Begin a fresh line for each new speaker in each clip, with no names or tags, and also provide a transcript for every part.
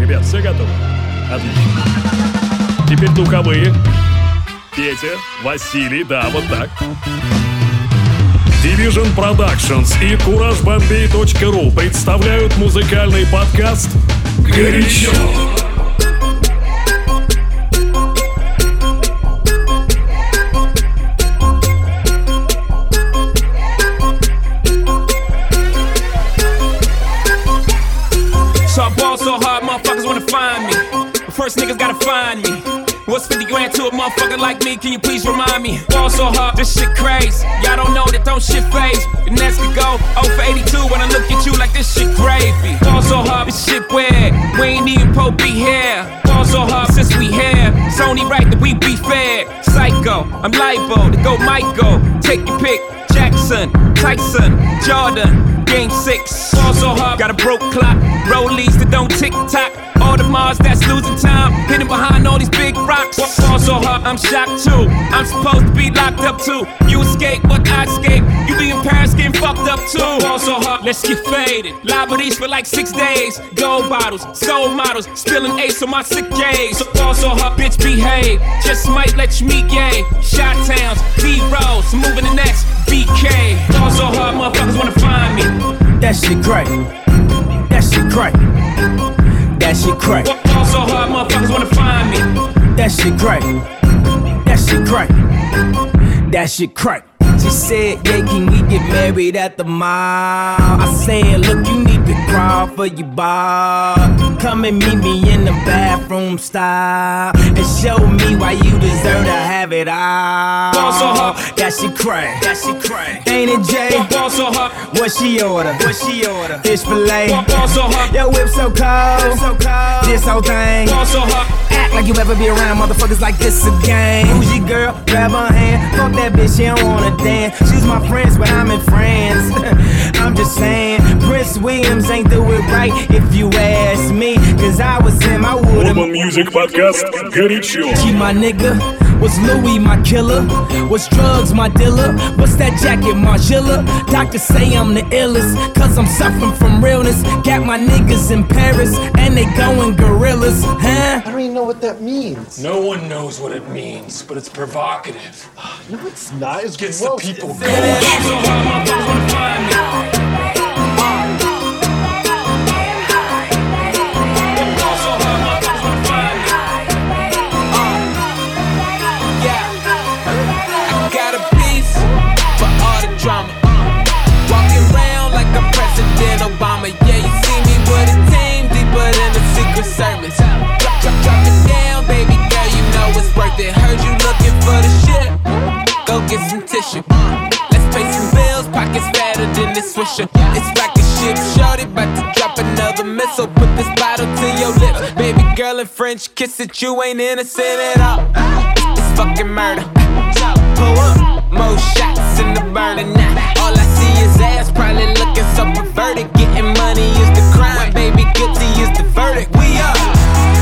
Ребят, все готовы? Отлично. Теперь духовые. Петя, Василий, да, вот так. Division Productions и CourageBombay.ru представляют музыкальный подкаст «Горячо».
So I ball so hard, motherfuckers wanna find me. But first niggas gotta find me. What's 50 grand to a motherfucker like me? Can you please remind me? Ball so hard, this shit crazy. Y'all don't know that don't shit phase. The next could go 0 for 82 when I look at you like this shit gravy. Ball so hard, this shit weird. We ain't even po be here. Ball so hard since we here. It's only right that we be fair. Psycho, I'm liable to go Michael. Take your pick. Jackson, Tyson, Jordan, Game 6. Ball so hard, got a broke clock. Rollies that don't tick-tock. All the Mars that's losing time, hidden behind all these big rocks. Ball so hard, I'm shocked too. I'm supposed to be locked up too. You escape, but I escape. You be in Paris getting fucked up too. Ball so hard, let's get faded. Liberties for like 6 days. Gold bottles, soul models, spilling ace on my sick days. So ball so hard, bitch behave. Just might let you meet gay. Shot towns, B-rolls, moving the next BK. Ball so hard, motherfuckers wanna find me.
That shit crack. That shit crack. That shit crack.
Ball so hard, motherfuckers wanna find me.
That shit crack. That shit crack. That shit crack. She said, yeah, can we get married at the mall? I said, look, you need to crawl for your bar. Come and meet me in the bathroom style and show me why you deserve to have it all.
Ball so hard.
That shit crack.
That shit crack.
Ain't it, Jay?
Ball so hard.
What she order? What she order? Fish fillet.
Ball so hard.
Your whip so cold. So cold. This whole thing.
Ball so hard.
Act like you ever be around motherfuckers like this again. Who's your girl? Grab her hand. Fuck that bitch, she don't wanna dance. She's my friends, but I'm in France. I'm just saying, Prince Williams ain't do it right if you ask me. Cause I was him, I would've.
Urban Music Podcast «Горячо».
She my nigga. Was Louis my killer? Was drugs my dealer? What's that jacket, Margilla? Doctors say I'm the illest, cause I'm suffering from realness. Got my niggas in Paris, and they going gorillas, huh?
I don't even know what that means.
No one knows what it means, but it's provocative.
No, it's not. It's
Gets
gross.
the people
Ball
going.
so hard, motherfuckers wanna find me. Ball so hard, motherfuckers wanna find me. I got a piece for all the drama. Walking around like I'm President Obama. Yeah, you see me with a team deeper than the Secret Service. Drop it down, baby girl, you know it's worth it. Heard you looking for the shit. Go get some tissue. Let's pay some bills, pockets fatter than this swisher. It's like a ship, shorty, about to drop another missile. Put this bottle to your lips, baby girl, in French kiss it. You ain't innocent at all. It's fucking murder. Pull up, more shots in the burner now. All I see is ass, probably looking so perverted. Getting money is the crime, baby, guilty is the verdict. We are.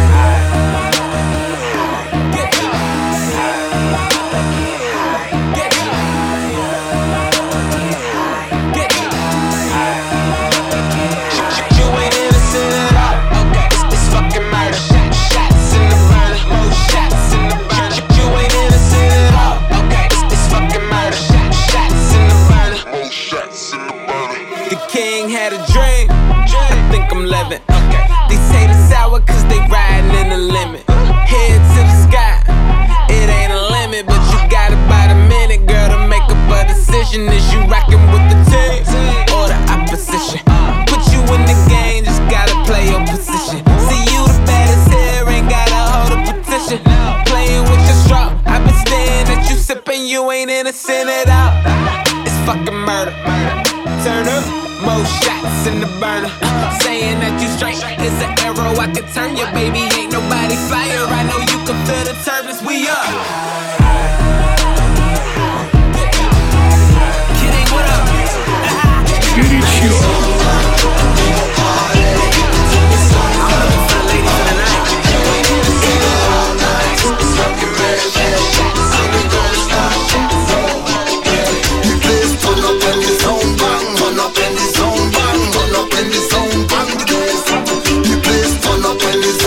Had a dream, I think I'm living. These haters sour cause they riding in the limit. Head to the sky, it ain't a limit. But you got about a minute, girl, to make up a decision. Is you rockin' with the team or the opposition? Put you in the game, just gotta play your position. See you the baddest here, ain't gotta hold a petition. Playing with your straw, I've been staring at you sipping, you ain't innocent at all. It's fucking murder. Turn up. More shots in the burner. Saying that you straight is an arrow. I can turn you, baby. Ain't nobody fire. I know you can feel the turbulence. We up. Kidding, what up?
«Горячо».
When the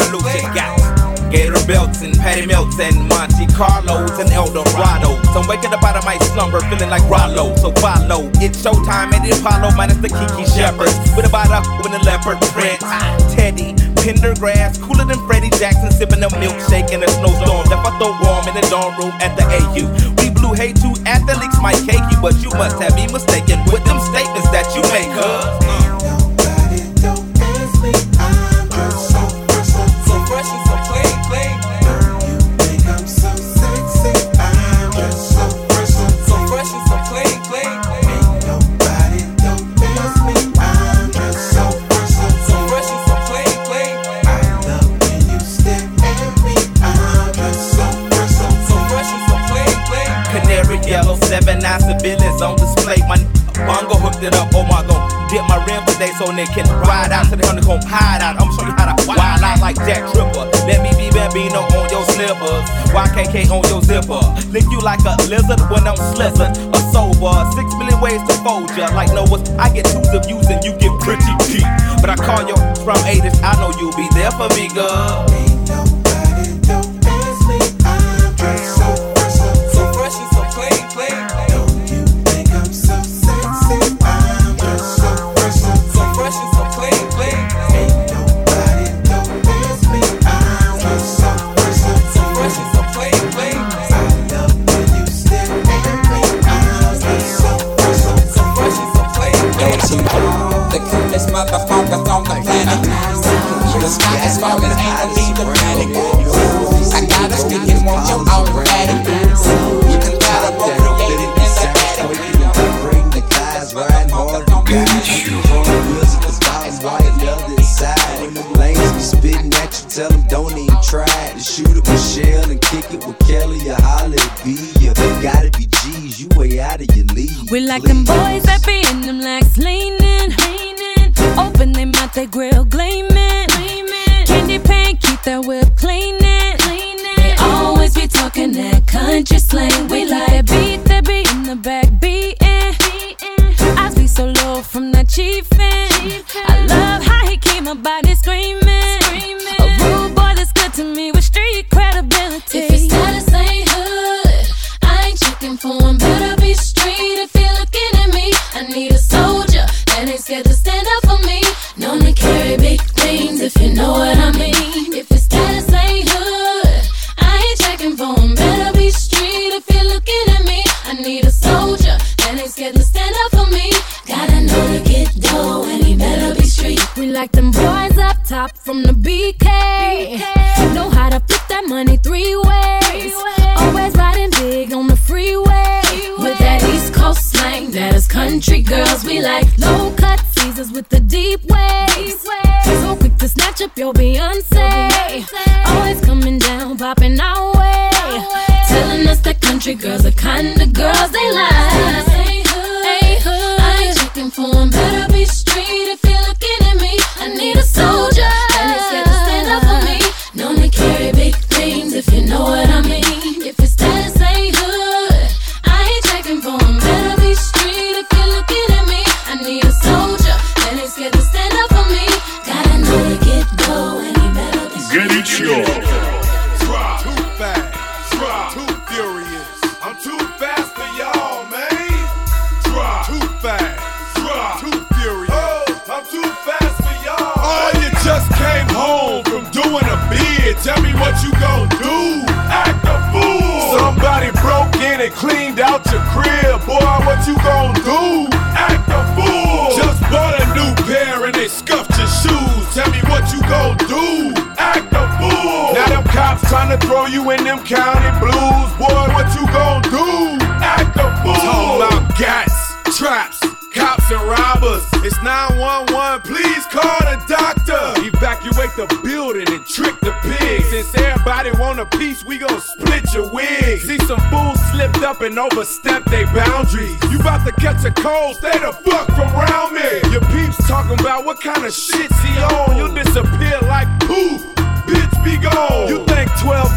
revolution got Gator belts and Patty Melts and Monte Carlos and Eldorados. I'm waking up out of my slumber feeling like Rollo, so follow. It's showtime at the Apollo minus the Kiki Shepherds. With a bottle with a leopard print. Teddy, Pendergrass, cooler than Freddie Jackson, sipping a milkshake in a snowstorm. Left I throw warm in the dorm room at the AU. We blew hay to athletes might cake you, but you must have me mistaken with them statements that you make,
Nobody don't ask me, I'm just so fresh and so clean. You think I'm so sexy, I'm just so fresh and so clean. Ain't nobody don't ask me, I'm just so fresh and so clean. I love when you stare at me, I'm just so fresh and so clean.
Canary yellow, 7-9 civilians on display. My bongo hooked it up, oh my god. Dip my rim today so they can ride out to the honeycomb hide out. I'ma show you how to wild out like Jack Tripper. Let me be Bambino on your slippers, YKK on your zipper. Lick you like a lizard when I'm slizzard or sober. 6 million ways to fold ya. Like Noah's, I get twos of views and you get pretty deep. But I call you from 80s, I know you'll be there for me, girl.
Ain't nobody don't ask me, I'm just so fresh and so clean. Don't you think I'm so sexy? I'm just so fresh and so clean. Ain't nobody don't ask me, I'm just so fresh and so clean. I love when you stare at me, I'm just so fresh and so clean.
The coolest motherfuckers on the planet. The sky is falling, ain't no need to panic. I gotta speak and want you automatic. You can try to motivate it in the attic.
Bring the class riding hard to guide. From the wheels of the stars, white leather inside. Lanes be spitting at you, tell them don't even try to shoot it with Shell and kick it with Kelly or holler at B. You gotta be G's, you way out of your league.
We like them boys that be in them legs leaning. Open them out, they grill gleaming. Candy paint, keep that whip cleaning. They always be talking that country slang. We like that beat in the back beating. I be so low from that chiefin'. I love how he keep my body screaming. A rude boy that's good to me with street credibility.
If your status ain't hood, I ain't checking for him. Better be street if you're looking at me. I need a soldier that ain't scared to stand up for me. Known to carry big things if you know what I mean. If your status ain't hood, I ain't checking for him. Better be street if you're looking at me. I need a soldier that ain't scared to stand up for me. Gotta know to get dough and he better be street.
We like them boys up top from the BK. Know how to flip that money 3 ways. Always riding big on the freeway. With that East Coast slang, that is country girls. We like low cut Caesars with the deep waves. So quick to snatch up your Beyonce. Always coming down, popping our way. Telling us that country girls are kind of girls they like.
I ain't checking for him. Better be street if you're looking at me. I need a soldier that ain't scared to stand up for me. Known to carry big things if you know what I mean. If your status ain't hood, I ain't checking for him. Better be street if you're looking at me. I need a soldier that ain't scared to stand up for me. Gotta know to get dough and he better be street.
Горячо.
Too fast, too furious. I'm too fast for y'all, man. Too fast, too furious. Oh, I'm too fast for y'all. Oh, you just came home from doing a bid. Tell me what you gon' do. Act a fool. Somebody broke in and cleaned out your crib. Boy, what you gon' do? Act a fool. Just bought a new pair and they scuffed your shoes. Tell me what you gon' do. Act a fool. Now them cops tryna throw you in them county blues. Boy, what you gon' do? Act a fool. Talking about gats, traps, cops and robbers. It's 911, please call the doctor. Evacuate the building and trick the pigs. Since everybody want a piece, we gon' split your wig. See some fools slipped up and overstepped their boundaries. You about to catch a cold, stay the fuck from around me. Your peeps talking about what kind of shit's he on. You'll disappear like poof, bitch be gone. You think 12 gon' catch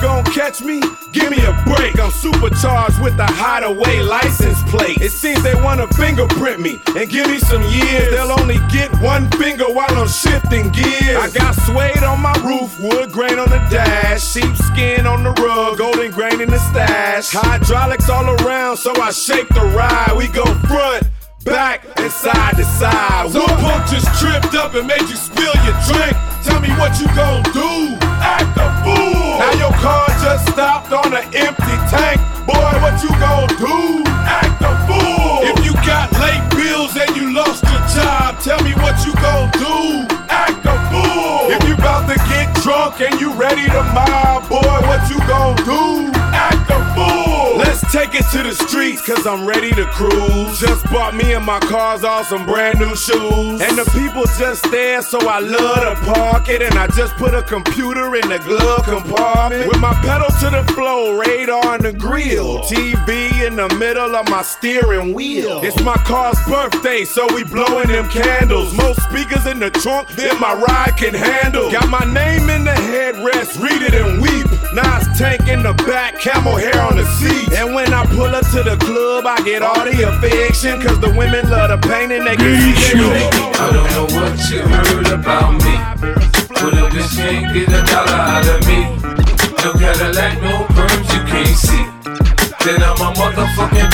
catch me? Give me a break. I'm supercharged with a hideaway license plate. It seems they wanna fingerprint me and give me some years. They'll only get one finger while I'm shifting gears. I got suede on my roof, wood grain on the dash, sheepskin on the rug, golden grain in the stash. Hydraulics all around, so I shake the ride. We go front, back, and side to side. Some punk just tripped up and made you spill your drink. Tell me what you gon' do. Act a fool. Now your car just stopped on an empty tank. Boy, what you gon' do? Act a fool. If you got late bills and you lost your job, tell me what you gon' do. Act a fool. If you about to get drunk and you ready to mob, boy, what you gon' do? Act a fool. Let's take it to the streets, cause I'm ready to cruise. Just bought me and my cars all some brand new shoes. And the people just there, so I love to park it. And I just put a computer in the glove compartment. With my pedal to the floor, radar in the grill, TV in the middle of my steering wheel. It's my car's birthday, so we blowing them candles. Most speakers in the trunk than my ride can handle. Got my name in the headrest, read it and weep. Nas tank in the back, camel hair on the seat. And when I pull up to the club, I get all the affection, cause the women love the pain and they can see everything.
I don't know what you heard about me, but a bitch can't get $1 out of me. No Cadillac, no perms, you can't see. Then I'm a motherfucking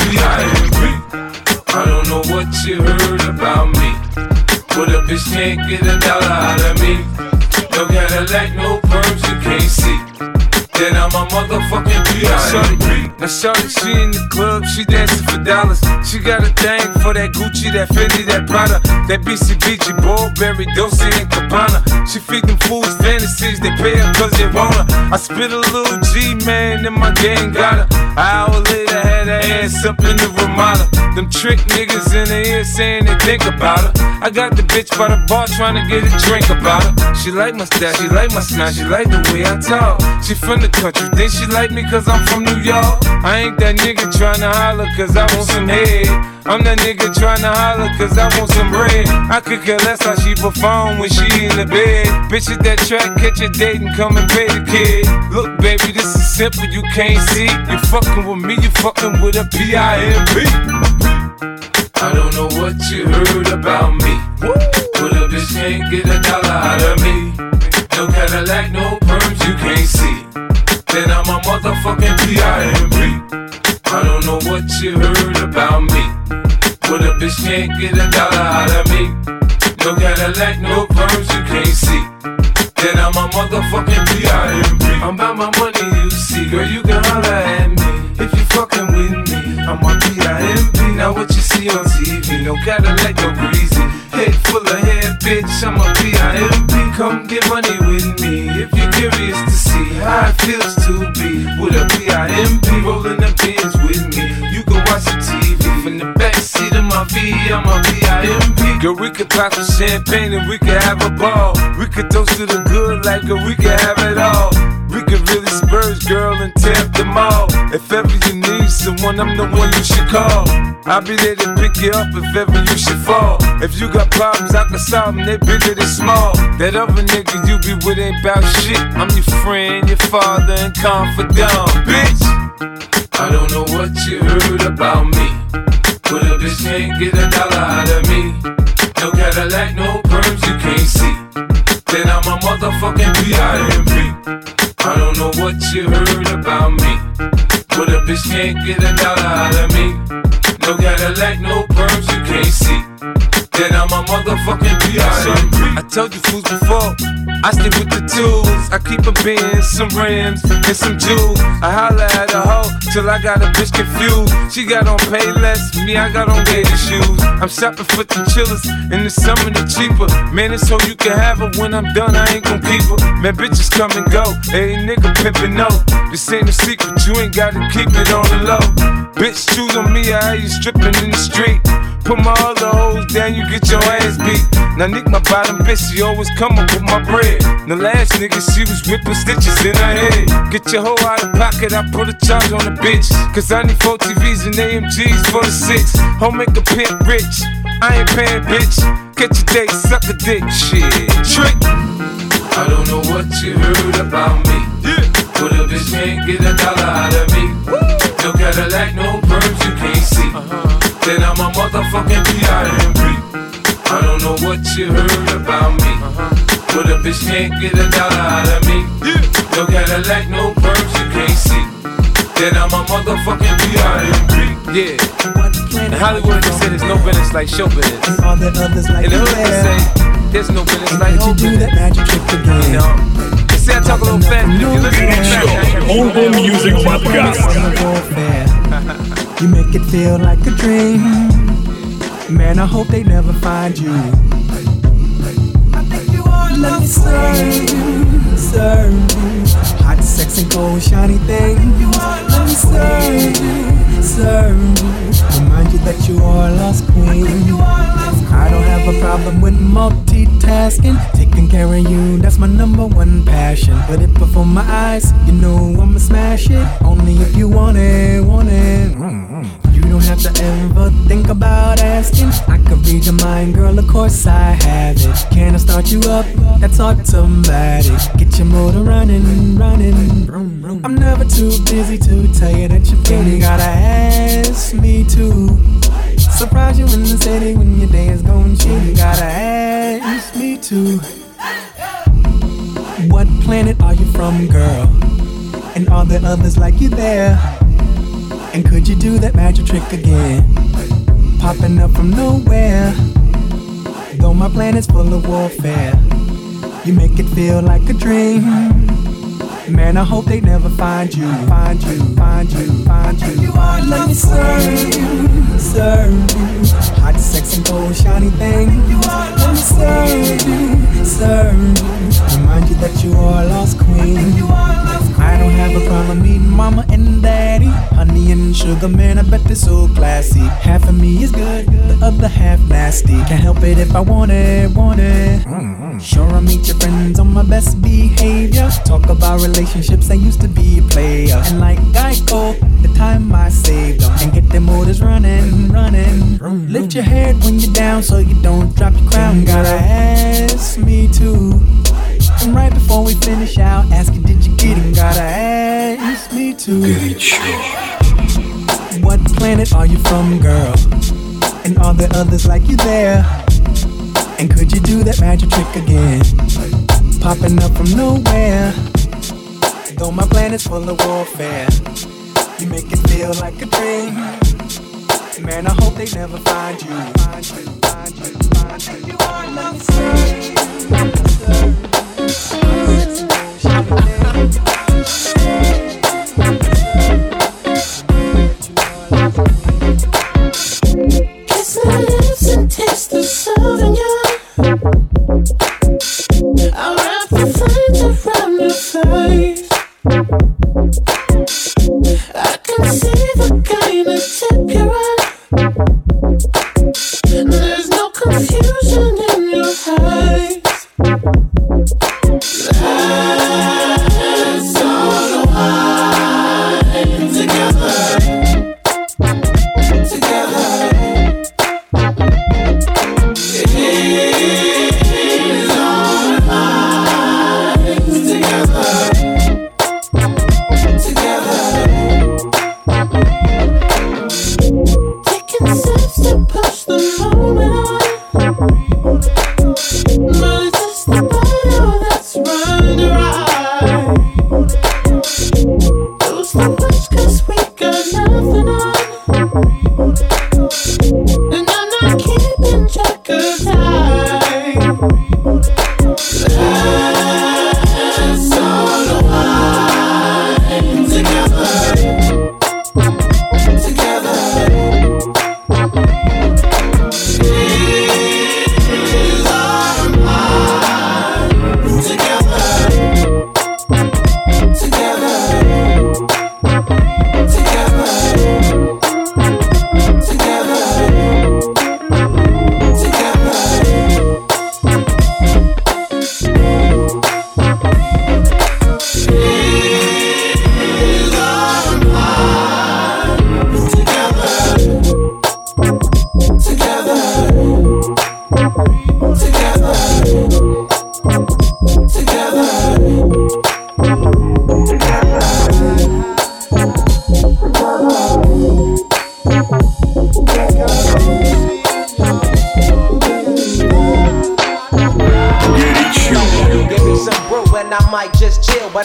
B.I.M.B. I don't know what you heard about me, but a bitch can't get $1 out of me. No Cadillac, no perms, you can't see. Then I'm a motherfucking B.I.M.B. Now shorty, she in the club, she dancing for dollars. She got a thing for that Gucci, that Fendi, that Prada, that BCBG, Burberry, Dolce and Gabbana. She feed them fools fantasies, they pay her cause they want her. I spit a little G, man, and my gang got her. An hour later, had her ass up in the Ramada. Them trick niggas in the ear saying they think about her. I got the bitch by the bar trying to get a drink about her. She like my style, she like my smile, she like the way I talk. She from the country, think she like me cause I'm from New York. I ain't that nigga tryna holler cause I want some head. I'm that nigga tryna holler cause I want some bread. I could care less how she perform when she in the bed. Bitch at that track, catch a date and come and pay the kid. Look baby, this is simple, you can't see. You fucking with me, you fucking with a B.I.M.B. I don't know what you heard about me, but a bitch can't get $1 out of me. No Cadillac, no perms, you can't see. Then I'm a motherfucking B.I.M.B. I don't know what you heard about me, but a bitch can't get $1 out of me. No Cadillac, no perms, you can't see. Then I'm a motherfucking B.I.M.B. I'm about my money, you see. Girl, you can holler at me if you fucking with me. I'm a B.I.M.B. Now what you see on TV, no Cadillac, no greasy. Head full of hair, bitch, I'm a B.I.M.B. Come get money with me if you're curious to see how it feels to be with a B.I.M.B. Rolling the pins with me, you can watch the TV from the backseat of my V, I'm a B.I.M.B. Girl, we could pop some champagne and we could have a ball. We could toast to the good like girl, we could have it all. We could really spurge, girl, and tear up the mall. If ever you need someone, I'm the one you should call. I'll be there to pick you up if ever you should fall. If you got problems, I can solve them, they bigger than small. That other nigga you be with ain't bout shit. I'm your friend, your father, and confidant, bitch. I don't know what you heard about me, but a bitch can't get $1 out of me. No Cadillac, no perms, you can't see. Then I'm a motherfucking B.I.M.B. I don't know what you heard about me, but a bitch can't get $1 out of me. No Cadillac, no perms, you can't see. Then I'm a motherfucking B.I.M.B. I told you fools before, I stick with the tools. I keep a Benz, some rims, and some jewels. I holla at a hoe till I got a bitch confused. She got on Payless, me I got on gator shoes. I'm shopping for the chillers, in the summer the cheaper. Man, it's so you can have her, when I'm done I ain't gon' keep her. Man, bitches come and go, hey nigga pimpin' no. This ain't a secret, you ain't gotta keep it on the low. Bitch, choose on me, I hear you strippin' in the street. Put my other hoes down, you get your ass beat. Now Nick, my bottom bitch, she always come up with my bread. The last nigga, she was whipping stitches in her head. Get your hoe out of pocket, I put a charge on the bitch. Cause I need 4 TVs and AMGs for the 6. Home make a pimp rich, I ain't paying bitch. Catch a date, suck a dick, shit, trick. I don't know what you heard about me, But a bitch can't get $1 out of me. No Cadillac, no perms you can't see. Then I'm a motherfucking P.I.M.P. I don't know what you heard about me. But a bitch can't get $1 out of me. No Cadillac, no perms you can't see. Then I'm a motherfucking P.I.M.P.
Yeah. In Hollywood they say there's no business like show business.
And all the others like
in the hood they say there's no business like
whole business. That magic trick again.
You know, they say I talk a little fast, but if you listen to me,
Mobile Music Podcast.
You make it feel like a dream. Man, I hope they never find you. Let me serve you. Hot, sexy, gold, shiny thing. Let me serve you. Remind you that you are a lost queen. I don't have a problem with multitasking. Taking care of you, that's my #1 passion. But if before my eyes, you know I'ma smash it. Only if you want it, You don't have to ever think about asking. I can read your mind, girl, of course I have it. Can I start you up? That's automatic. Get your motor running. I'm never too busy to tell you that you're feeling. Gotta ask me to surprise you in the city when your day is going shitty. Gotta ask me to. What planet are you from, girl? And are there others like you there? And could you do that magic trick again? Popping up from nowhere. Though my planet's full of warfare, you make it feel like a dream. Man, I hope they never find you. Find you. Let me serve you. Hot, sexy, gold, shiny thing. Let me serve you. Remind you that you are a lost queen. I don't have a problem meeting mama and daddy. Honey and sugar, man, I bet they're so classy. Half of me is good, the other half nasty. Can't help it if I want it. Sure, I meet your friends on my best behavior. Talk about relationships, I used to be a player. And like Geico, the time I saved them. And get them motors running. Lift your head when you're down so you don't drop your crown. Gotta ask me to. And right before we finish, I'll ask you, did you get it? Gotta ask me to. What planet are you from, girl? And are there others like you there? And could you do that magic trick again? Popping up from nowhere. Though my planet's full of warfare, you make it feel like a dream. Man, I hope they never find you. Let me serve you.
Kiss my lips and taste the Sauvignon. I'll wrap the flames around your face. I can see the kind of tip you're on. There's no confusion in your eyes.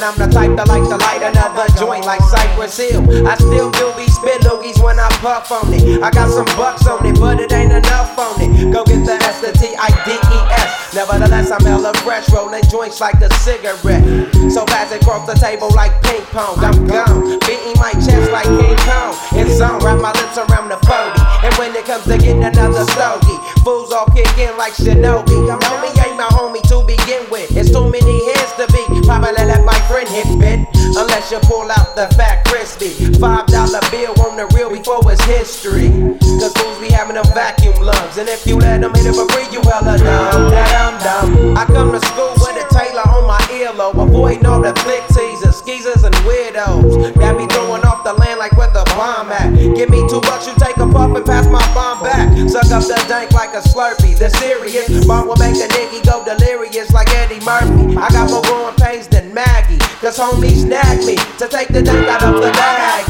I'm the type to like to light another joint like Cypress Hill. I still do be spit loogies when I puff on it. I got some bucks on it, but it ain't enough on it. Go get the S-T-I-D-E-S. Nevertheless, I'm hella fresh, rolling joints like a cigarette. So pass it across the table like ping pong. I'm gone, beating my chest like King Kong. It's on, wrap my lips around the 40. And when it comes to getting another stogie, fools all kick in like Shinobi. Homie ain't my homie to begin with. It's too many heads to be. Probably let my friend hit bit. Unless you pull out the fat crispy $5 bill on the real before it's history. Cause fools be having them vacuum lungs. And if you let them hit it for free, you hella dumb. I come to school with a Taylor on my earlobe, avoiding all the thick teasers, skeezers, and weirdos that be throwing off the land like where the bomb at. Give me $2, you take a puff and pass my bomb back. Suck up the dank like a Slurpee. The serious bomb will make a nigga go delirious like Eddie Murphy. I got more growing pains than Maggie, cause homies nag me to take the dank out of the bag.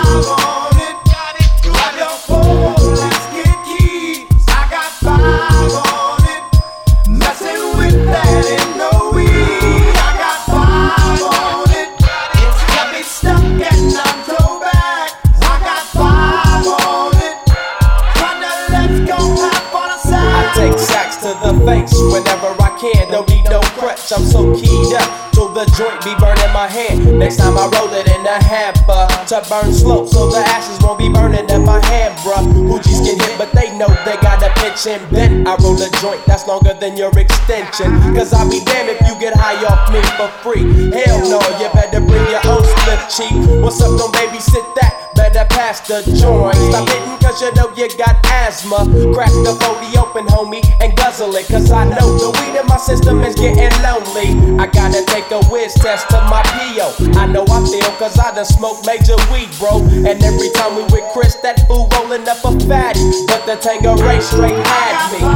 Grab your phone, let's get keys. I got 5 on it. Messing with that ain't no weed. I got 5 on it. It's got me stuck and I'm throwback. I got 5 on it. Partner, let's go have fun aside.
I take sacks to the face whenever I can. Don't need no crutch, I'm so keyed up. The joint be burning my hand. Next time I roll it in a hamper to burn slow, so the ashes won't be burning in my hand, bruh. Hoogies get hit, but they know they gotta pitch and bend. I roll a joint that's longer than your extension. Cause I'll be damned if you get high off me for free. Hell no, you better bring your own split cheek. What's up, don't babysit that? Better pass the joint. Stop hitting cause you know you got asthma. Crack the 40 open, homie, and guzzle it. Cause I know the weed in my system is getting lonely. I gotta take a whiz test to my P.O. I know I feel cause I done smoked major weed, bro. And every time we with Chris, that fool rolling up a fatty. But the Tangeray straight had me.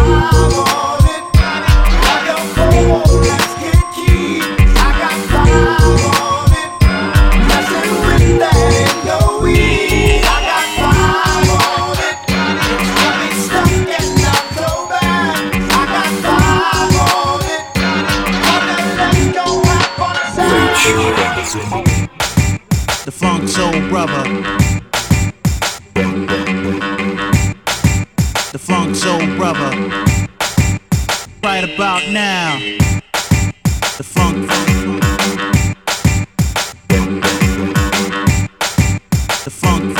Let's get keys. I got 5 on it. Messing with that ain't no weed. I got 5 on it. It's got me stuck and I'm throwback. I got 5 on it. Let's go have fun aside.
The Funk Soul Brother. The Funk Soul Brother. Right about now. The funk. The funk.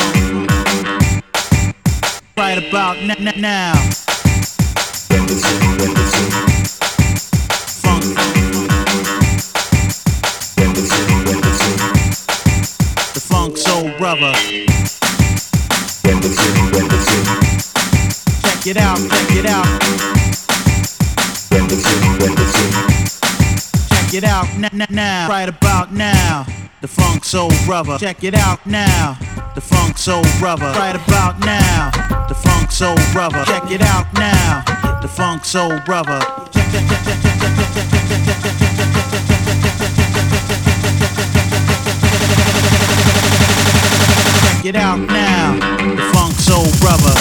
Right about now. Funk. The Funk Soul Brother. Check it out, check it out. Check it out now, right about now. The Funk Soul Brother. Check it out now. The Funk Soul Brother. Right about now. The Funk Soul Brother. Check it out now. The Funk Soul Brother. Check it out now. The Funk Soul Brother.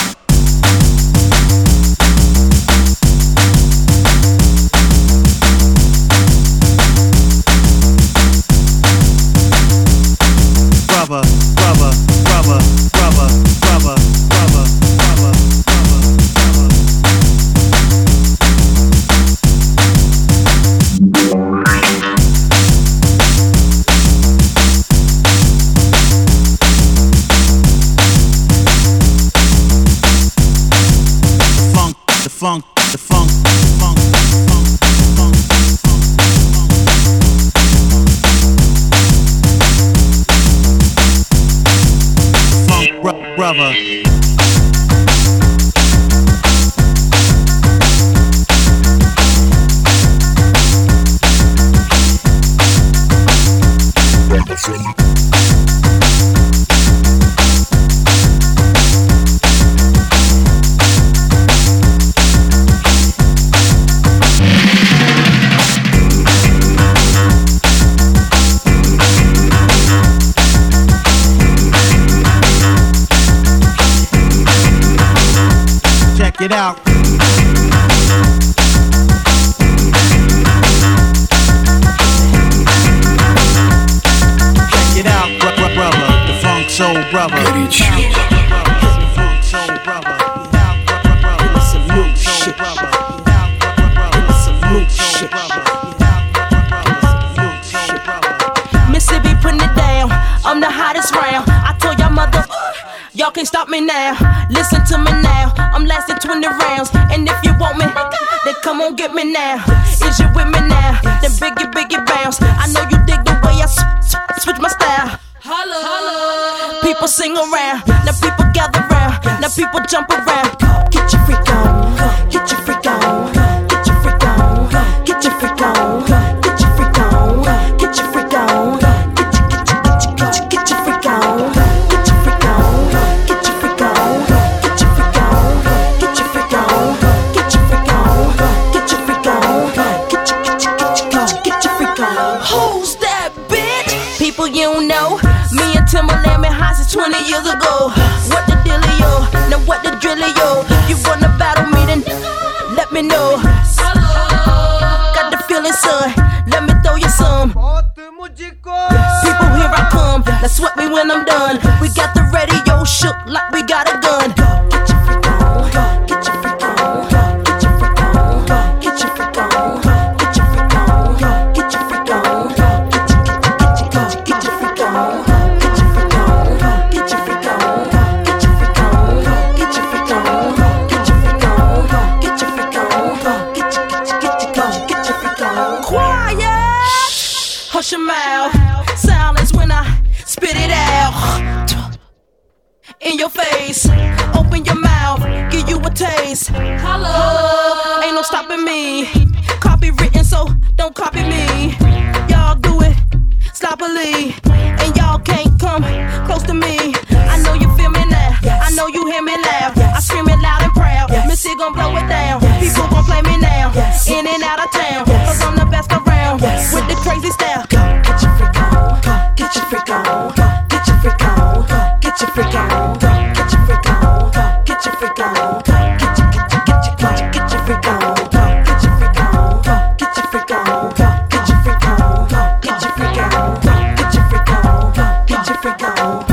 Brother. Check it out. brother.
Горячо.
Funk soul brother.
Some new shit. Some new shit. Mississippi putting it down. I'm the hottest round. I told y'all mother, y'all can't stop me now. Listen to me now. I'm lasting 20 rounds. And if you want me, then come on get me now. Is you with me now? Then biggie bounce. I know you dig the way I switch my style. Holla, holla. People sing around. Now people gather round. Now people jump around. Get your freak on. Get your freak on. Get your freak on. Get your freak on. Get your freak on. Get your freak on. Get your freak on. Get your freak on. Get your freak on. Get your freak on. Get your freak on. Get your freak on. Get your freak on. Get your freak on. Who's that bitch? People you don't know. Me and Timberland been high since 20 years ago. What the dealio? Now what the drillio? You wanna battle me then let me know. Got the feeling, son. Let me throw you some. People, here I come. Now sweat me when I'm done. We got the radio shook like we got a gun. Get your freak on. Get your freak on. Get your freak on. Get your freak on. Get your freak on. Get your freak on. Get your freak on. Get your freak on. Get your freak on. Get your freak on. Get your freak on. Get your freak on. Get your freak on. Get your freak on. Quiet. Hush your mouth. Silence when I spit it out. In your face. Open your mouth. Give you a taste. Holla. Ain't no stopping me. Copywritten, so don't copy me. Y'all do it sloppily. And y'all can't come close to me. I know you feel me now. I know you hear me loud. I scream it loud and proud. Missy gon' blow it down. People gon' play me now. In and out of town. Cause I'm the best around. With the crazy style. Get your freak on. Get your freak on. Get your freak on. Get your freak on. Get your freak on. Get your freak on. Get your freak on. Get your freak on. Get your freak on. Get your freak on. Get your freak on. Get your freak on. Get your freak on. Get your freak on. Get your freak on.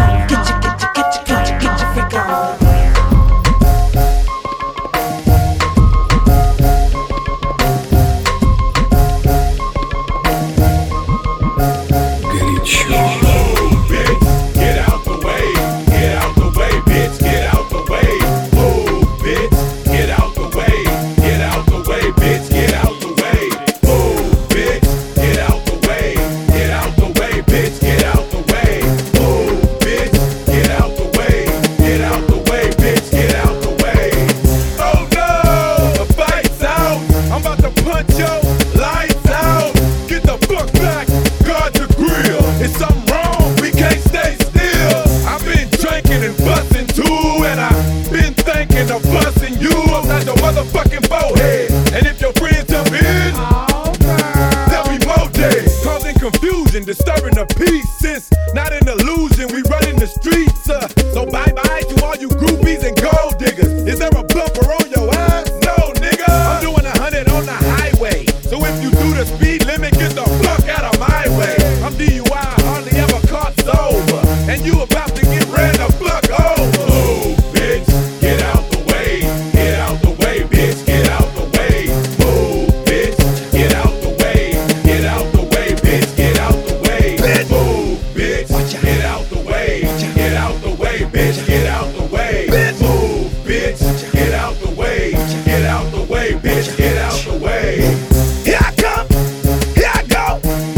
Disturbing the peace, since not an illusion, we running the streets. So bye-bye to all you groupies and gold diggers. Is there a bumper on your ass? No, nigga. I'm doing 100 on the highway. So if you do the speed limit, get the fuck out of my way. I'm DUI, hardly ever caught sober. And you about to get ran the fuck over. Move, bitch, get out the way. Get out the way, bitch, get out the way. Move, bitch, get out the way. Get out the way, bitch, get out the way. Move, bitch, get out the way. Get out the way, bitch, get out the way. Move, bitch, get out the way. Get out the way, bitch, get out the way. Here I come, here I go.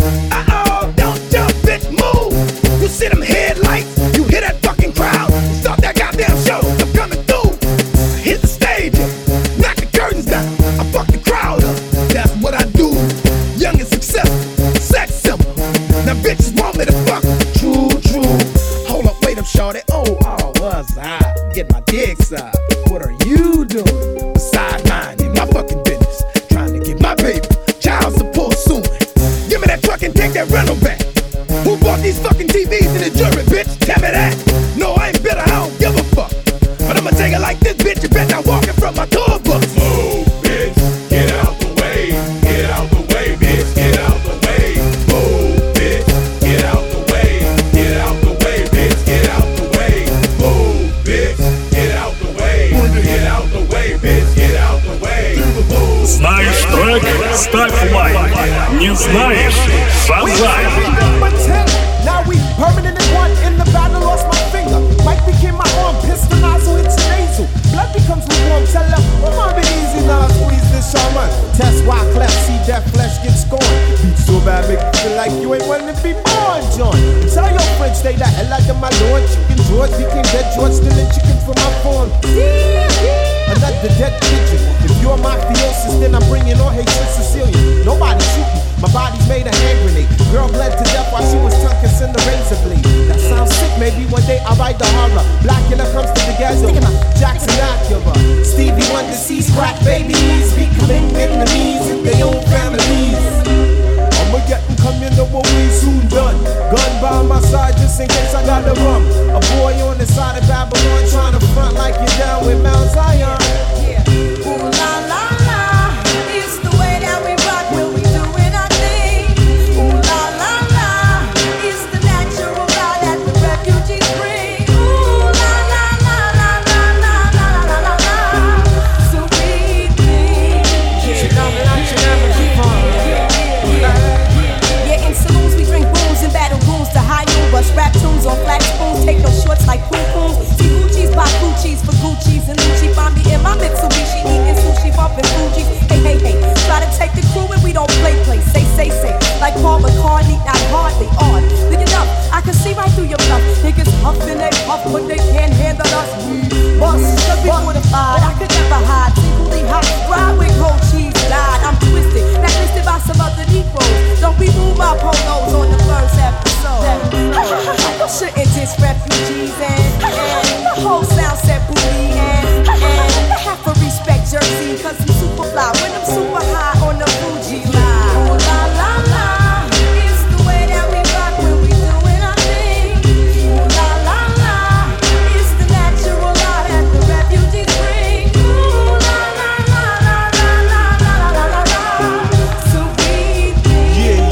Don't jump, bitch, move. You see them headlights, you hear that fucking crowd. Stop that goddamn show, I'm coming through. I hit the stage, knock the curtains down. I fuck the crowd up, that's what I do. Young and successful, sex simple. Now bitches want me to fuck. True, true. Hold up, wait up, shorty. Oh, was I? Get my dick sucked. What are you doing? Besides minding my fucking business. Trying to get my paper. Child support soon. Give me that truck and take that rental back. Who bought these fucking TVs in the jury, bitch? Tell me that. No, I ain't bitter, I don't give a fuck. But I'ma take it like this, bitch. You bet not walking from my tour bus. Move, bitch. Get out the way. Get out the way, bitch. Get out the way. Move, bitch. Get out the way. Get out the way, bitch. Get out the way.
ты знаешь, Шазай.
Now we permanent in one. In the battle, lost my finger. Mike became my arm. Pistol nozzle hits your nasal. Blood becomes lukewarm. Tell her, come on, be easy now. Squeeze this shaman. Test why cleft. See that flesh get scorned. Beat so bad, make you feel like you ain't wanting to be born, John. Tell your friends, stay the hell out of my lord. Chicken George became dead George, stealing chicken from my farm. Another dead pigeon. If you're mafiosis, then I'm bringing all hate to Sicilian. Nobody shooting. My body's made a hand grenade. Girl bled to death while she was tonguing in the razor blade. That sounds sick, maybe one day I'll write the horror. Blackula comes to the ghetto. Jackson Acura. Stevie Wonder sees crack babies becoming enemies in their own families. I'ma get them come, you know what we soon done. Gun by my side just in case I gotta run. A boy on the side of Babylon trying to front like you're down with Mount Zion. Yeah. Ooh la la la, it's the way that we rock when we doing our thing. Ooh la la la, it's the natural law that the refugees bring. Ooh la la la la la la la la la la. So we think. Yeah, in saloons we drink booze and battle goons to high noon. Bust rap tunes on flat spoons, take no shorts like poom pooms. See Gucci's, buy Gucci's for Gucci's and Lucci. Find me in my Mitsubishi eating sushi, bumping Fuji. Hey, hey, hey, try to take the crew and we don't play. Say, like Paul McCartney, not hardly on. Look it up, I can see right through your bluff. Niggas huffing they puff, but they can't handle us. Bust, be mortified, I could never hide. Singly hot, ride with cold cheese, died. I'm twisted, blacklisted by some other Negroes. Don't be moved by polos on the first episode. You shouldn't diss refugees and the whole sound set booty and they have to respect Jersey cause I'm super fly when I'm super high on the Fuji line. Ooh la la la, it's the way that we rock when we doing our thing. Ooh la la la, it's the natural law that the refugees bring. Ooh la la la la la la la la la. So we think.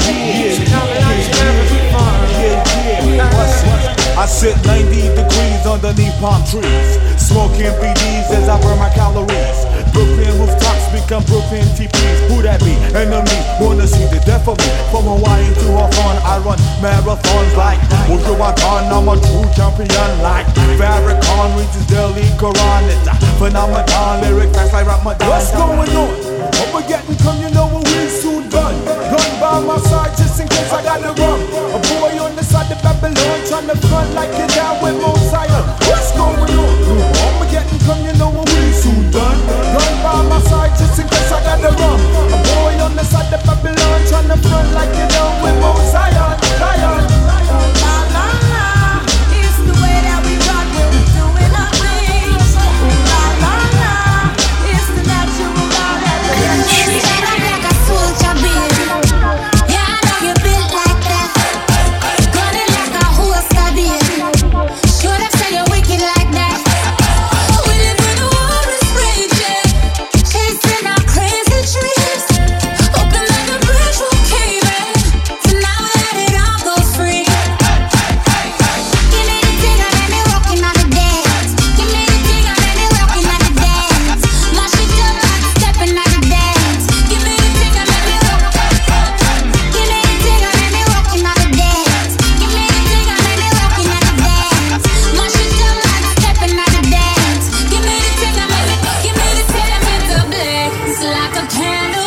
I sit 90 degrees underneath palm trees, smoking BDs as I burn my calories. Brooklyn rooftops become Brooklyn TPs. Who that be? Enemy, wanna see the death of me. From Hawaii to Hawthorne, I run marathons like Wujuwatan. I'm a true champion like Farrakhan reaches Delhi Quran. It's a phenomenon, lyric fast like Ramadan.
What's going on? I'ma get and come, you know what we soon done. Gun by my side just in case I gotta run. A boy on the side of Babylon trying to front like you're down with Mount Zion. What's going on? I'ma get and come, you know what we soon done. Gun by my side just in case I gotta run. A boy on the side of Babylon trying to front like you're down with Mount Zion. Zion. La la la, it's the way that we rock when we doing our thing. La la la, it's the natural law that we
like a soldier, baby. Yeah, I know you built like that. Gunning like a horse, baby. Should have said you're wicked like that. We live when the war is raging, chasing our crazy dreams. Open like a bridge will cave in. So now let it all go free. Give me the thing and let me rockin' on the dance. Give me the thing and let me rockin' on the dance. Mash it up like steppin' on the dance. Give me the thing and let me rock. Give me the thing and let me rockin' on the dance. Give me the thing and let me rockin' on the dance. Mash it up like steppin' on the dance. Give me the thing and let me, give me the thing and make the blaze like a candle.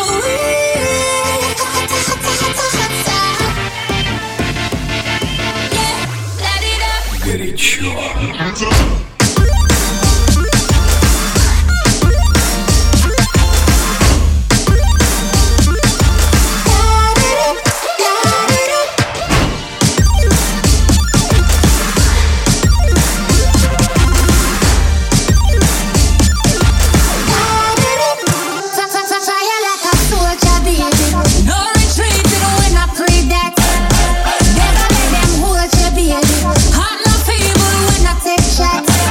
Yeah, light it up.
Горячо.
Fire like a soldier, baby. No retreat even when I pray that. Never let them hold you, baby. Heart not feeble when I take shots.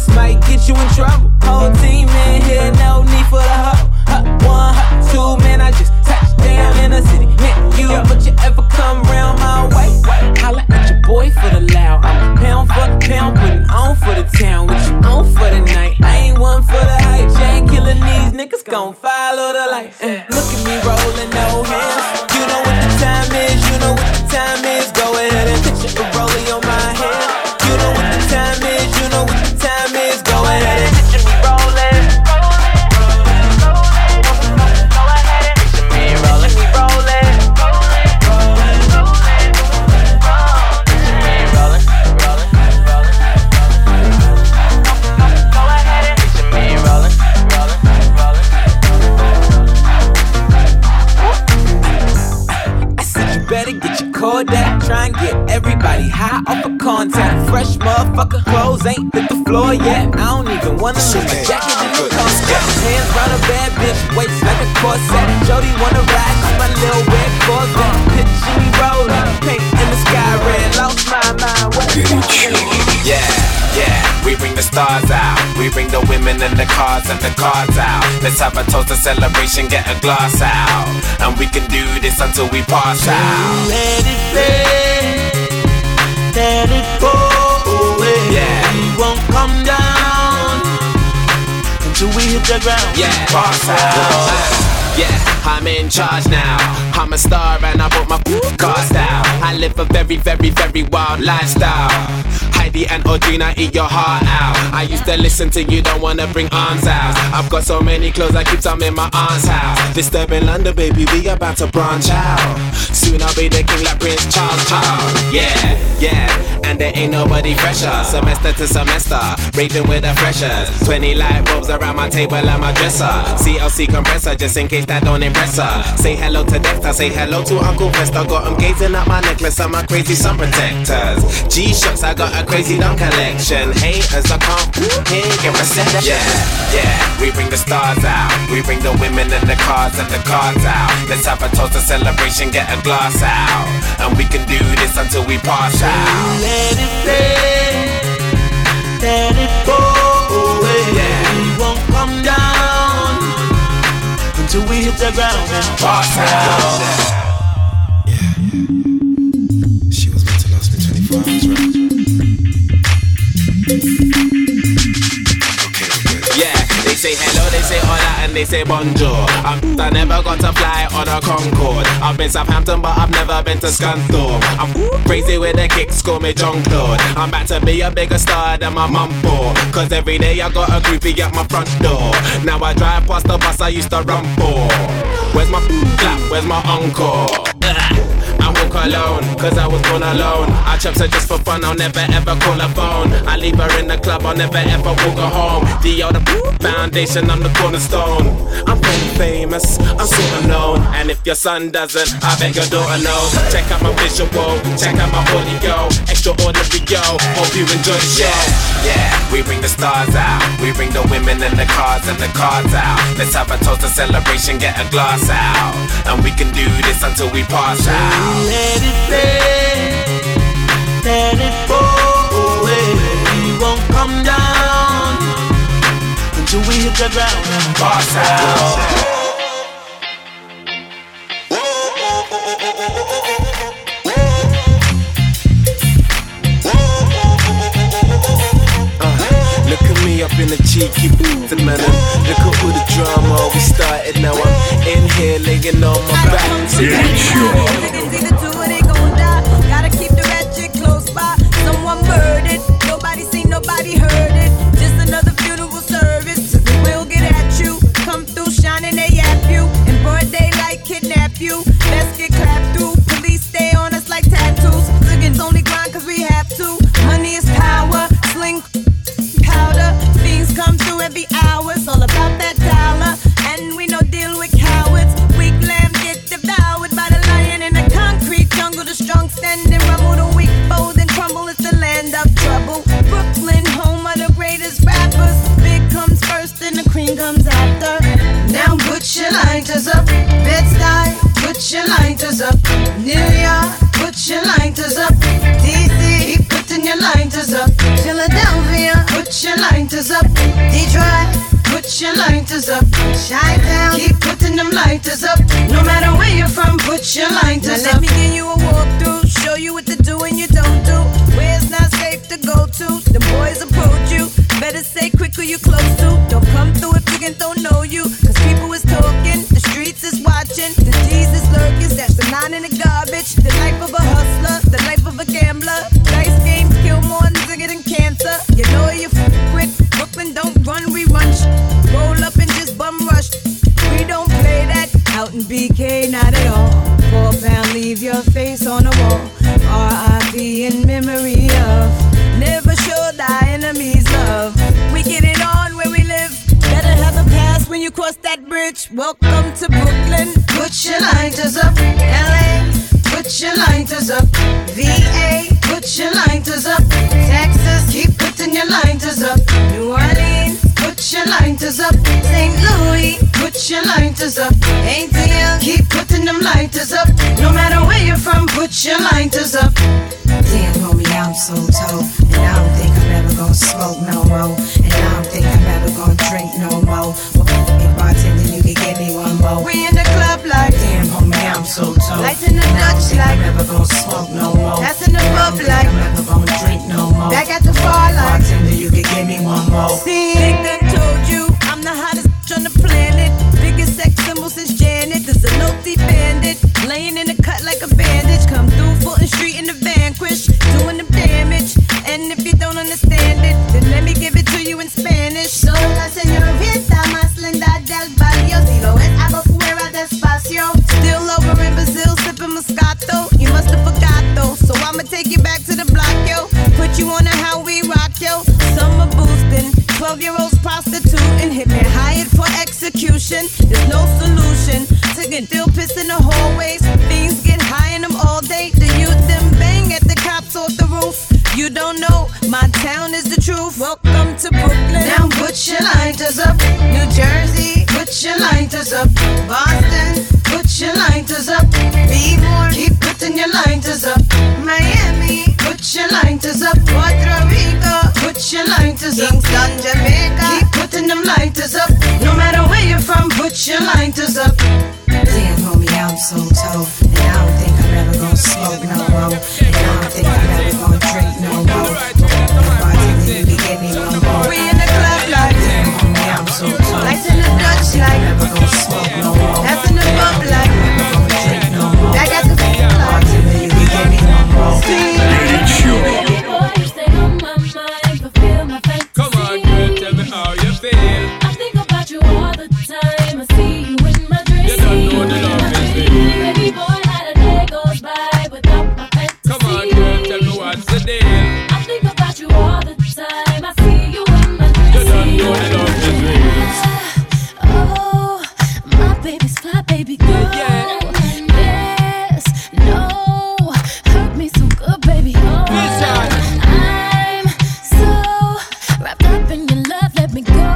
this might get you in trouble. Whole team in here, no need for the hoe. One, two, man, I just touched down in the city. Hit you, but you ever come round my way? Holla at your boy for the loud. I'm pound for pound, putting on for the town. What you on for the night? I ain't one for the hype. Jane killing these niggas gon' follow the light. Look at me rolling, no hands. You know what the time is, you know what the time is. Go ahead and picture a rollie on my hand. You know what the time is, you know what the time is. Go ahead and picture me rolling. Kodak, try and get everybody high off of contact. Fresh motherfucker, clothes ain't hit the floor yet. I don't even wanna leave my jacket in the coat. Hands round a bad bitch, waist like a corset. Jody wanna ride to my little red Corvette. Picture me rolling, paint in the sky red. Lost my mind.
Yeah, yeah, we bring the stars out. We bring the women and the cars and the cards out. Let's have a toast, a celebration, get a glass out. And we can do this until we pass out.
Let it rain, let it go away.
Yeah,
we won't come down until we hit the ground.
Yeah, pass out. Yeah, I'm in charge now. I'm a star and I bought my cars down. I live a very, very, very wild lifestyle. Heidi and Audrina, eat your heart out. I used to listen to you, don't wanna bring arms out. I've got so many clothes, I keep some in my aunt's house. Disturbing London, baby, we about to branch out. Soon I'll be the king like Prince Charles. Yeah, yeah, and there ain't nobody fresher. Semester to semester, raving with the freshers. 20 light bulbs around my table and my dresser. CLC compressor, just in case that don't impress her. Say hello to Dexter, say hello to Uncle Fester. Got him gazing at my necklace and my crazy sun protectors. G-Shocks, I got a crazy dumb collection. Haters, I can't hear reception. Yeah, yeah, we bring the stars out. We bring the women and the cars and the cards out. Let's have a toast, a celebration, get a glass out. And we can do this until we pass out.
Let it rain, let it go away.
Yeah,
we won't come down until we hit the ground and pass out.
Yeah, she was meant to last me 24 hours, right? Yeah, they say hello, they say hola, and they say bonjour. I never got to fly on a Concorde. I've been Southampton, but I've never been to Scunthorpe. I'm crazy with the kicks, call me Jean-Claude. I'm about to be a bigger star than my mum for. Cause every day I got a groupie at my front door. Now I drive past the bus I used to run for. Where's my clap, where's my encore? I walk alone, cause I was born alone. I chops her just for fun, I'll never ever call her phone. I leave her in the club, I'll never ever walk her home. The other foundation, I'm the cornerstone. I'm pretty famous, I'm super known. And if your son doesn't, I bet your daughter knows. Check out my visual, check out my audio. Extraordinary, yo, hope you enjoy the show. Yeah, we bring the stars out. We bring the women and the cars and the cards out. Let's have a toast, a celebration, get a glass out. And we can do this until we pass out.
Let it rain, let it go away. We won't come down until we hit the ground and pass out.
Look at me up in the cheeky booth, man. Look at all the drama we started. Now I'm in here laying on my back.
Gotta keep the ratchet close by. Someone murdered, nobody seen, nobody heard it. Just another funeral service. We'll get at you. Come through shining, they yap you. In broad daylight, kidnap you. Let's get clapped through. Police stay on us like tattoos. Liggins only grind cause we have to. Money is power. Sling powder. Fiends come through every hour. It's all about that dollar. And we no deal with cowards. Weak lamb get devoured by the lion in the concrete jungle. The strong stand and rumble. The weak fold and crumble. It's the land of trouble. Brooklyn, home of the great. lighters up. Detroit, put your lighters up. Chi-town, keep putting them lighters up. No matter where you're from, put your lighters up. Let me give you a walkthrough, show you what to do and you don't do. Where it's not safe to go to, the boys approach you. Better say quick who you close to. Don't come through if chickens don't know you. Cause people is talking, the streets is watching. The D's is lurking, that's the 9 in the garbage. The life of a hustler, the life of a gambler. Dice games kill more nigga than cancer. You know you with Brooklyn, don't run, we run. Roll up and just bum rush. We don't play that out in BK, not at all. £4, leave your face on the wall. R.I.P. in memory of. Never show thy enemies love. We get it on where we live. Better have a pass when you cross that bridge. Welcome to Brooklyn. Put your lighters up. LA, put your lighters up. VA, put your lighters up. Texas, keep putting your lighters up. New Orleans, put your lighters up. St. Louis, put your lighters up. ATL, keep putting them lighters up. No matter where you're from, put your lighters up. Damn, homie, I'm so told. And I don't think I'm ever gonna smoke no more. And I don't think I'm ever gonna drink no more. But hey, bartender, you can give me one more. We in the club like, damn, homie, I'm so told. Lights in the Dutch like, I'm never gonna smoke no more. That's in the pub like, I'm never gonna drink no more. Back at the bar like, bartender, you can give me one more. See, Big Gun told you, I'm the hottest on the planet. Biggest sex symbol since Janet. There's a no-thief bandit, laying in the cut like a bandage. Come through Fulton Street in the Vanquish, doing the damage. And if you don't understand it, then let me give it to you in Spanish. Sola señorita más linda del barrio. Si lo es, hago fuera despacio. Still over in Brazil, sipping Moscato. You must have forgot though, so I'ma take you back to the block, yo. Put you on a how we rock, yo. Summer boosting, 12-year-olds prostituting. Hit me hired for execution. There's no solution to get still pissed in the hallways. Things get high in them all day. The youth them bang at the cops off the roof. You don't know, my town is the truth. Welcome to Brooklyn. Now put your lighters up. New Jersey, put your lighters up. Boston, put your lighters up. Be more, keep putting your lighters up. Miami, put your lighters up. Puerto Rico, put your lighters up. Kingston, Jamaica, keep putting them lighters up. No matter where you're from, put your lighters up. Damn, homie, I'm so told. And I don't think I'm ever gonna smoke no more. And I don't think I'm ever gonna drink no more. Bartender, you can give me one more. We in the club like, damn, homie, I'm so told. Lights in the Dutch like, I'm never gonna smoke no more. That's in the pub like, I'm never gonna drink no more. Back at the bartender, you can give me one more.
Come on, girl, tell me how you feel.
I think about you all the time. I see you in my dreams.
You don't know the love is real.
Baby boy, how the day goes by without my fantasy.
Come on, girl, tell me what's the deal.
I think about you all the time. I see you in my dreams.
You don't know the love is real.
Oh, my baby's fly, baby girl. Yes, no, hurt me so good, baby. Oh, I'm so wrapped up in your love. Let me go.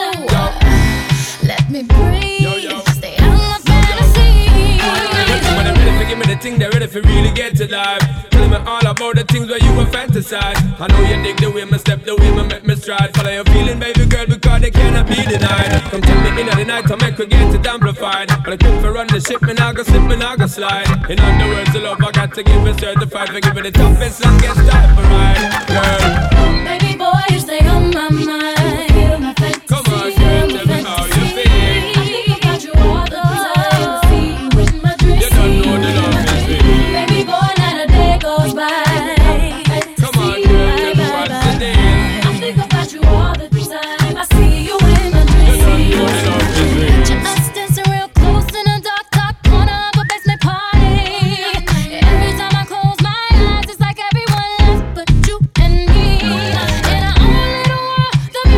Let me breathe. Stay out of my fantasy.
When they're ready to give me the thing, they're ready for really get to life. Telling me all about the things where you were fantasize. I know you dig the way my step, the way my make me stride. Follow your feeling, baby girl, because they cannot be denied. Come tell me in the night to make we get it amplified. But I quit for run the ship, me now go slip, me now go slide. In other words, the love I got to give it certified. For giving the toughest, let's get started for ride, girl.
Baby boy, you stay on my mind. Feel my fantasy.
Come on, girl, tell me how you feel.
I think about you all the time. I see you in my dreams.
You don't know the love is real.
Baby boy, now the day goes by.
Come on, girl, tell me what's the deal.
I think about you all the time. I see you in my dreams.
You don't know the love is real.
Just dancing real close in a dark top corner of a basement party. Every time I close my eyes, it's like everyone left but you and me. In our own little world, the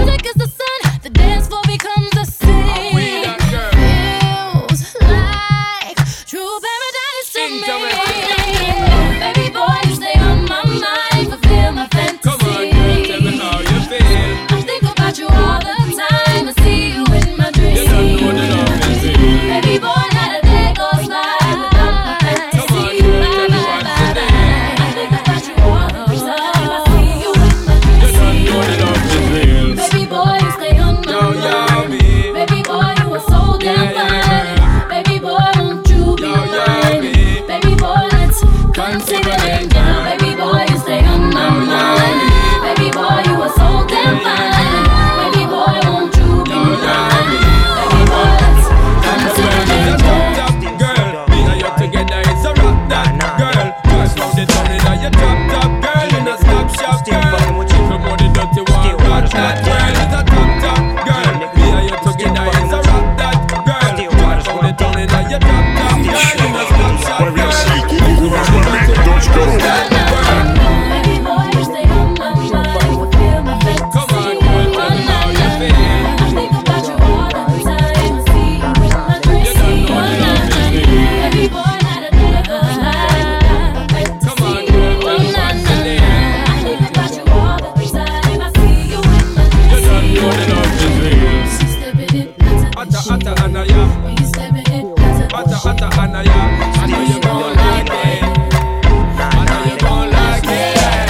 know the love is real. Atta atta anaya. Atta atta anaya. I know you gon' like it. I know you gon' like it.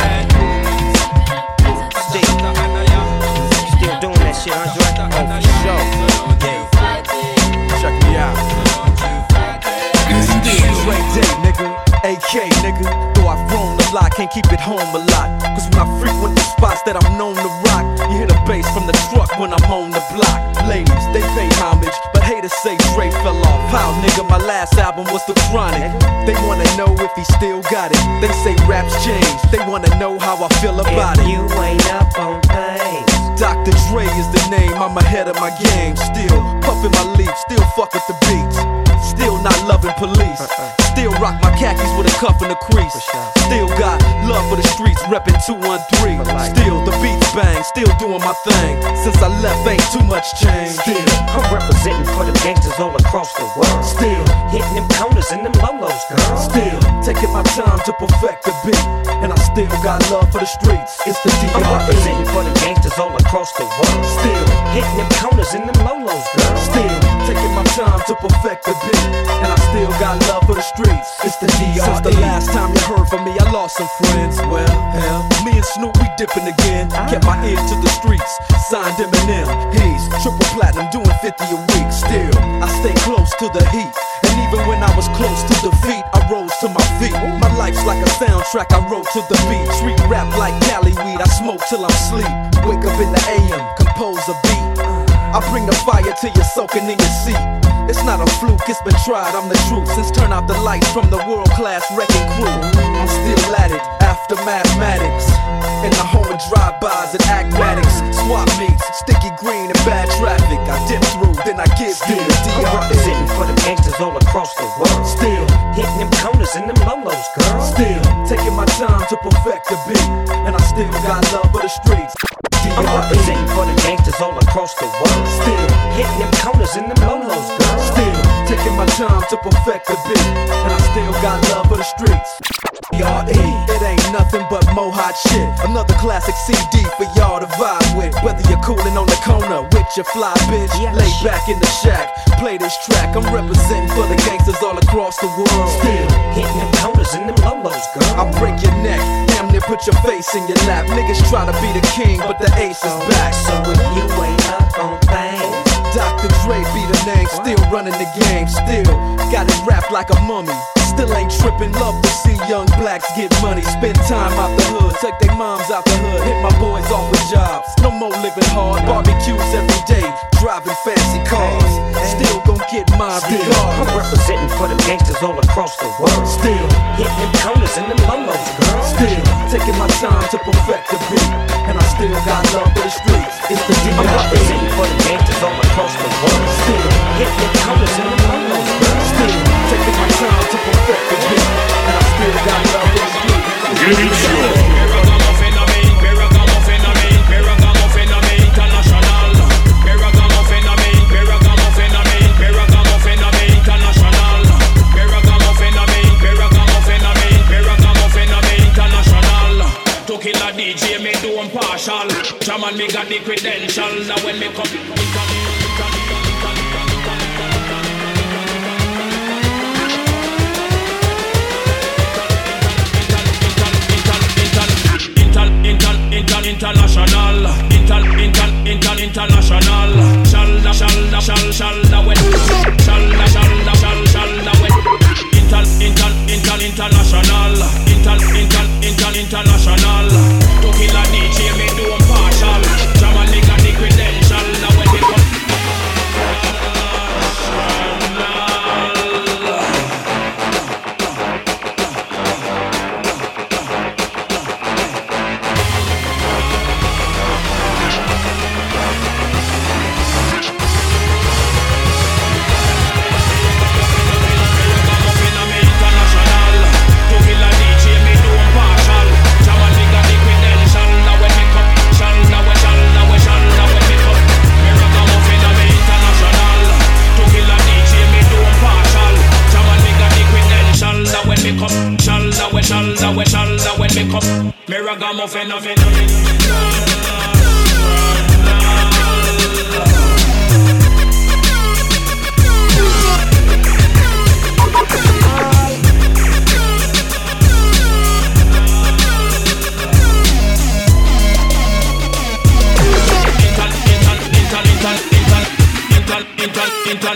Still doing that shit, Andre? Oh, for sure.
Check me out. Dre Day, nigga. AK, nigga. Though I've grown a lot, can't keep it home a lot. Cause when I frequent the spots that I'm known to rock, you hear the bass from the truck when I'm on the block. Ladies, they pay homage, but haters say Dre fell off. How, nigga, my last album was The Chronic. They wanna know if he still got it. They say raps change, they wanna know how I feel about it.
You ain't up on things.
Dr. Dre is the name, I'm ahead of my game. Still puffin' my leaf, still fuck with the beats. Still not loving police. Still rock my khakis with a cuff and a crease. Still got love for the streets, reppin' 213. Still the beats bang, still doing my thing. Since I left, ain't too much change.
Still, I'm representing for the gangsters all across the world.
Still
hitting them corners and them lolos, girl.
Still taking my time to perfect the beat, and I still got love for the streets. It's the D.R.E.
I'm representing for the gangsters all across the world.
Still
hitting them corners and them lolos, girl.
Still taking my time to perfect the beat, and I still got love for the streets. It's the D.R.E. Since the last time you heard from me, I lost some friends. Well, hell, me and Snoop, we dipping again. Kept my ear to the streets, signed Eminem. He's triple platinum, doing 50 a week. Still, I stay close to the heat, and even when I was close to defeat, I rose to my feet. My life's like a soundtrack, I wrote to the beat. Street rap like Cali weed, I smoke till I'm sleep. Wake up in the AM, compose a beat. I bring the fire till you're soaking in your seat. It's not a fluke, it's been tried, I'm the truth. Since turn out the lights from the world-class wrecking crew, I'm still at it, after mathematics. In the home of drive-bys and acmatics, swap meets, sticky green and bad traffic. I dip through, then I give you the D.R.E.
I'm representing for the gangsters all across the world.
Still
hitting them corners and them lolos, girl.
Still taking my time to perfect the beat, and I still got love for the streets.
I'm representing for the gangsters all across the world.
Still
hitting them corners and them lolos, girl.
Still taking my time to perfect the beat, and I still got love for the streets. D.R.E. It ain't nothing but mo hot shit. Another classic CD for y'all to vibe with. Whether you're coolin' on the corner with your fly bitch, lay back in the shack, play this track. I'm representing for the gangsters all across the world.
Still hitting them corners and them lolos, girl.
I'll break your neck, damn near put your face in your lap. Niggas try to be the king, but the ace is back.
So if you ain't up on things,
Dr. Dre be the name, still running the game. Still got it wrapped like a mummy. Still ain't trippin', love to see young blacks get money. Spend time out the hood, take their moms out the hood. Hit my boys off with jobs, no more living hard. Barbecues every day, driving fancy cars. Still gon' get my regard.
I'm representing for the gangsters all across the world.
Still
hitting them corners and them lolos, girl.
Still taking my time to perfect the beat, and I still got love for the streets. It's the D.R.E.
I'm representing for the gangsters all across the world.
Still
hitting them corners and them lolos, girl.
Still taking my time to perfect the beat, and I still got love for the streets.
Killer DJ, me do impartial. Jaman, me got the credentials. Now when me come, international, international. Shalla when, shalla when. International. To kill a DJ, me do impartial. Jaman, me got the credentials. Now when me come. Shalla when me come, me ragamuffin.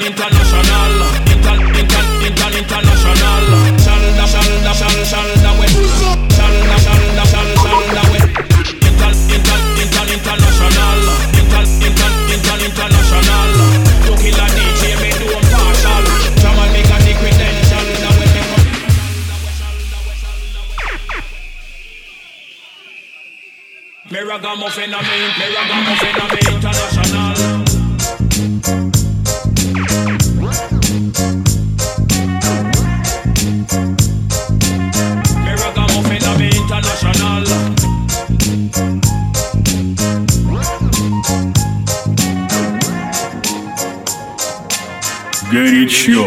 international. International. Shalda with. Shalda with. International. International. To kill a DJ, me do a partial. Jamal make a dick with them. Shalda with me. Me ragamuffin a me international.
Горячо.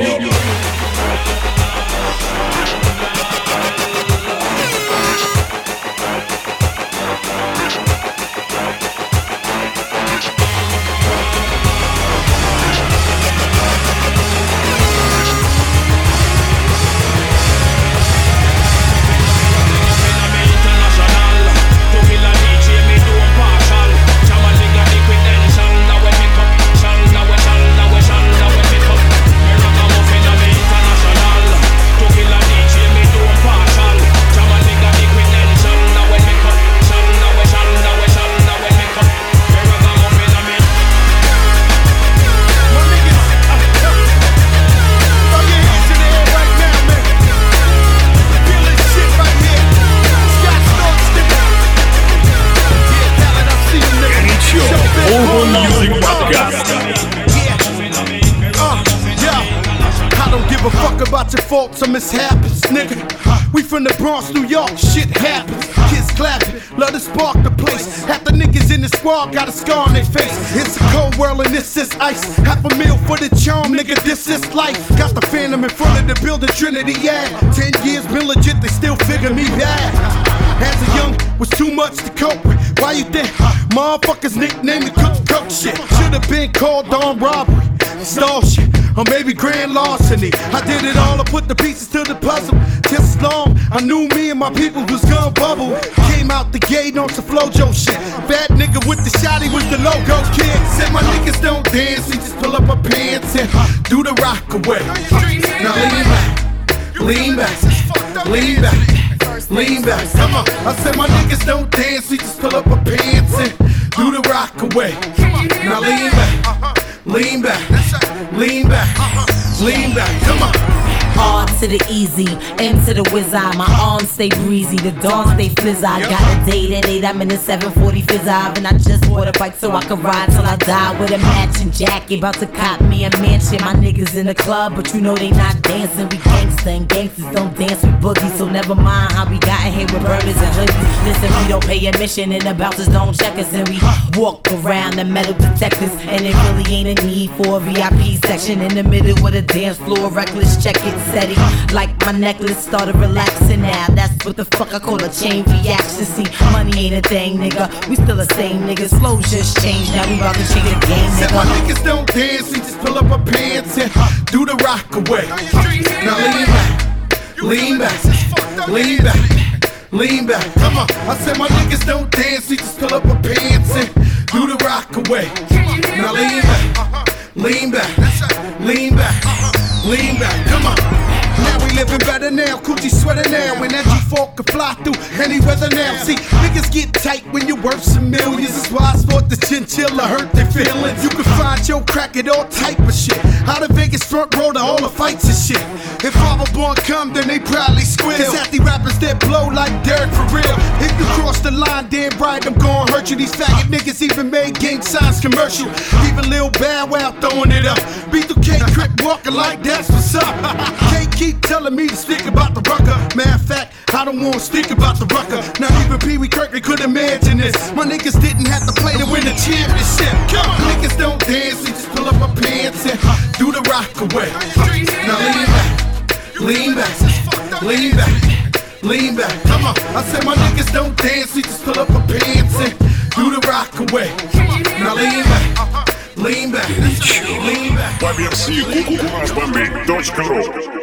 Faults or mishaps, nigga. We from the Bronx, New York, shit happens. Kids clapping, love to spark the place. Half the niggas in the squad got a scar on their face. It's a cold world and this is ice. $500,000 for the charm, nigga, this is life. Got the Phantom in front of the building, Trinity, yeah. 10 years been legit, they still figure me bad. As a young, was too much to cope with. Why you think motherfuckers nicknamed me cook shit? Should've been called on robbery, stall shit, or maybe grand larceny. I did it all, I put the pieces to the puzzle. Just as long, I knew me and my people was gonna bubble. Came out the gate on some Flojo shit. Bad nigga with the shotty was the logo kid. Said my niggas don't dance, they just pull up my pants and do the rock away. Now lean back, lean back, lean back, lean back. Come on, I said my niggas don't dance, we just pull up our pants and do the rock away. Now lean back, lean back, lean back, lean back. Come on.
R to the easy, M to the whiz eye. My arms stay breezy, the dawn stay fizz. I got a date at 8, I'm in the 740 fizz and I just bought a bike so I can ride till I die with a matching jacket. About to cop me a mansion. My niggas in the club, but you know they not dancing. We gangsta and gangsters don't dance with boogies. So never mind how we got here with burners and hoodies. Listen, we don't pay admission and the bouncers don't check us. And we walk around the metal detectors. And it really ain't a need for a VIP section. In the middle with a dance floor, reckless, check it. Steady, like my necklace started relaxing now. That's what the fuck I call a chain reaction. See, money ain't a thing, nigga. We still the same niggas. Flow just changed. Now we about to change the game, nigga.
Said my niggas don't dance, we just pull up our pants and do the rock away. Now lean back, lean back, lean back, lean back. Come on, I said my niggas don't dance, we just pull up our pants and do the rock away. Now lean back, lean back, lean back, lean back. Come on. Now we living better now, coochie sweater now. And that G4 can fly through any weather now. See, niggas get tight when you're worth some millions. That's why I thought the chinchilla hurt their feelings. You can find your crack at all type of shit. Out of Vegas front row to all the fights and shit. If Fatherborn come, then they probably squeal. Cause at the rappers that blow like Derek for real. If you cross the line, damn right, I'm gon' hurt you. These faggot niggas even made gang signs commercial. Even Lil Bow Wow throwing it up. B2K Crip walking like that's what's up. Can't keep telling me to speak about the rucker. Matter of fact, I don't wanna speak about the rucker. Not even Pee Wee Kirkland could imagine this. My niggas didn't have to play to win the championship. Come on, niggas don't dance, we just pull up our pants and do the rock away. Now lean back, lean back, lean back, lean back. Come on, I said my niggas don't dance, we just pull up our pants and do the rock away. Now lean back, lean back, lean back.
По версии kukukumasbombi.ru